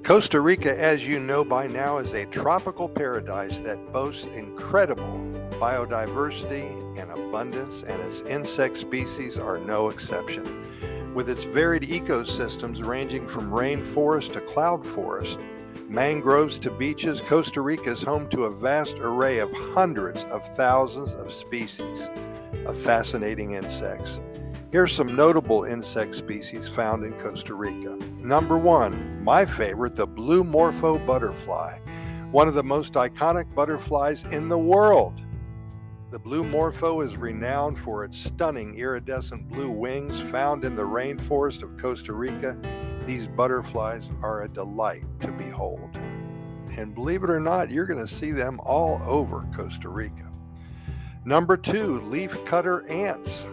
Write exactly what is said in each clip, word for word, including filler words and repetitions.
Costa Rica, as you know by now, is a tropical paradise that boasts incredible biodiversity and abundance, and its insect species are no exception. With its varied ecosystems ranging from rainforest to cloud forest, mangroves to beaches, Costa Rica is home to a vast array of hundreds of thousands of species of fascinating insects. Here's some notable insect species found in Costa Rica. Number one, my favorite, the blue morpho butterfly, one of the most iconic butterflies in the world. The blue morpho is renowned for its stunning iridescent blue wings found in the rainforest of Costa Rica. These butterflies are a delight to behold. And believe it or not, you're going to see them all over Costa Rica. Number two, leafcutter ants.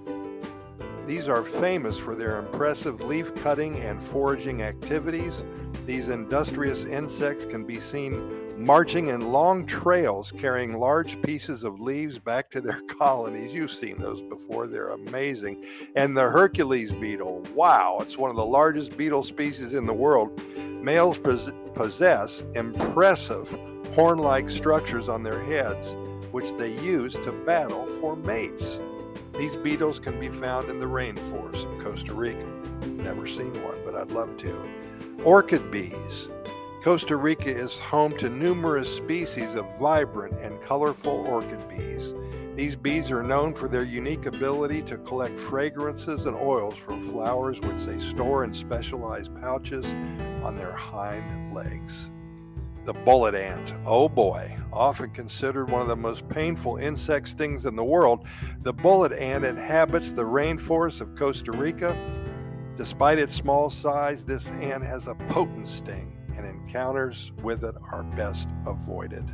These are famous for their impressive leaf cutting and foraging activities. These industrious insects can be seen marching in long trails, carrying large pieces of leaves back to their colonies. You've seen those before. They're amazing. And the Hercules beetle, wow, it's one of the largest beetle species in the world. Males possess impressive horn-like structures on their heads, which they use to battle for mates. These beetles can be found in the rainforest of Costa Rica. Never seen one, but I'd love to. Orchid bees. Costa Rica is home to numerous species of vibrant and colorful orchid bees. These bees are known for their unique ability to collect fragrances and oils from flowers, which they store in specialized pouches on their hind legs. The bullet ant, oh boy, often considered one of the most painful insect stings in the world, the bullet ant inhabits the rainforests of Costa Rica. Despite its small size, this ant has a potent sting, and encounters with it are best avoided.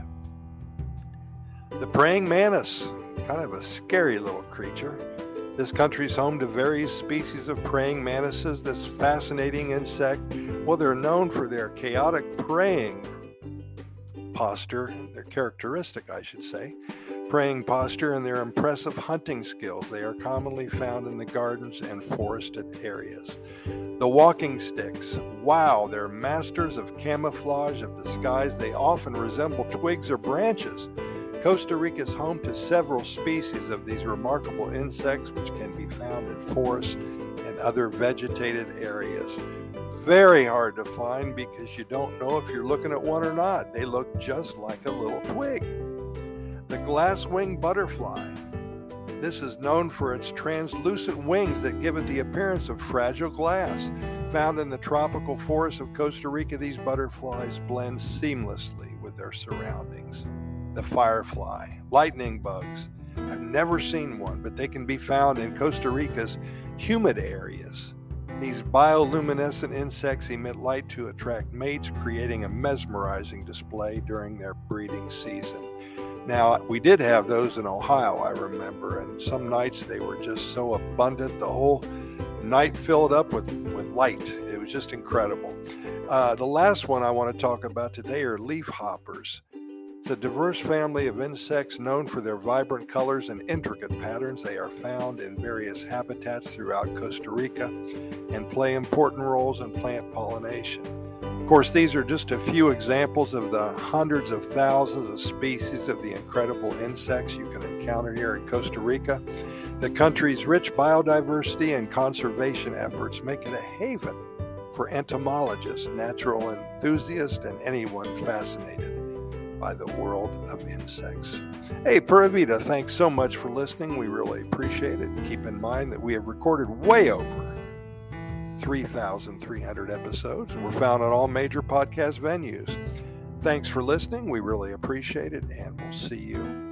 The praying mantis, kind of a scary little creature. This country is home to various species of praying mantises. This fascinating insect, well, they're known for their chaotic praying posture, their characteristic, I should say, praying posture, and their impressive hunting skills. They are commonly found in the gardens and forested areas. The walking sticks, wow, they're masters of camouflage, of disguise. They often resemble twigs or branches. Costa Rica is home to several species of these remarkable insects, which can be found in forests and other vegetated areas. Very hard to find because you don't know if you're looking at one or not. They look just like a little twig. The glass-winged butterfly. This is known for its translucent wings that give it the appearance of fragile glass. Found in the tropical forests of Costa Rica, these butterflies blend seamlessly with their surroundings. The firefly, lightning bugs. I've never seen one, but they can be found in Costa Rica's humid areas. These bioluminescent insects emit light to attract mates, creating a mesmerizing display during their breeding season. Now, we did have those in Ohio, I remember, and some nights they were just so abundant, the whole night filled up with, with light. It was just incredible. Uh, the last one I want to talk about today are leafhoppers. It's a diverse family of insects known for their vibrant colors and intricate patterns. They are found in various habitats throughout Costa Rica and play important roles in plant pollination. Of course, these are just a few examples of the hundreds of thousands of species of the incredible insects you can encounter here in Costa Rica. The country's rich biodiversity and conservation efforts make it a haven for entomologists, natural enthusiasts, and anyone fascinated by the world of insects. Hey, Pura Vida, thanks so much for listening. We really appreciate it. Keep in mind that we have recorded way over three thousand three hundred episodes, and we're found on all major podcast venues. Thanks for listening. We really appreciate it, and we'll see you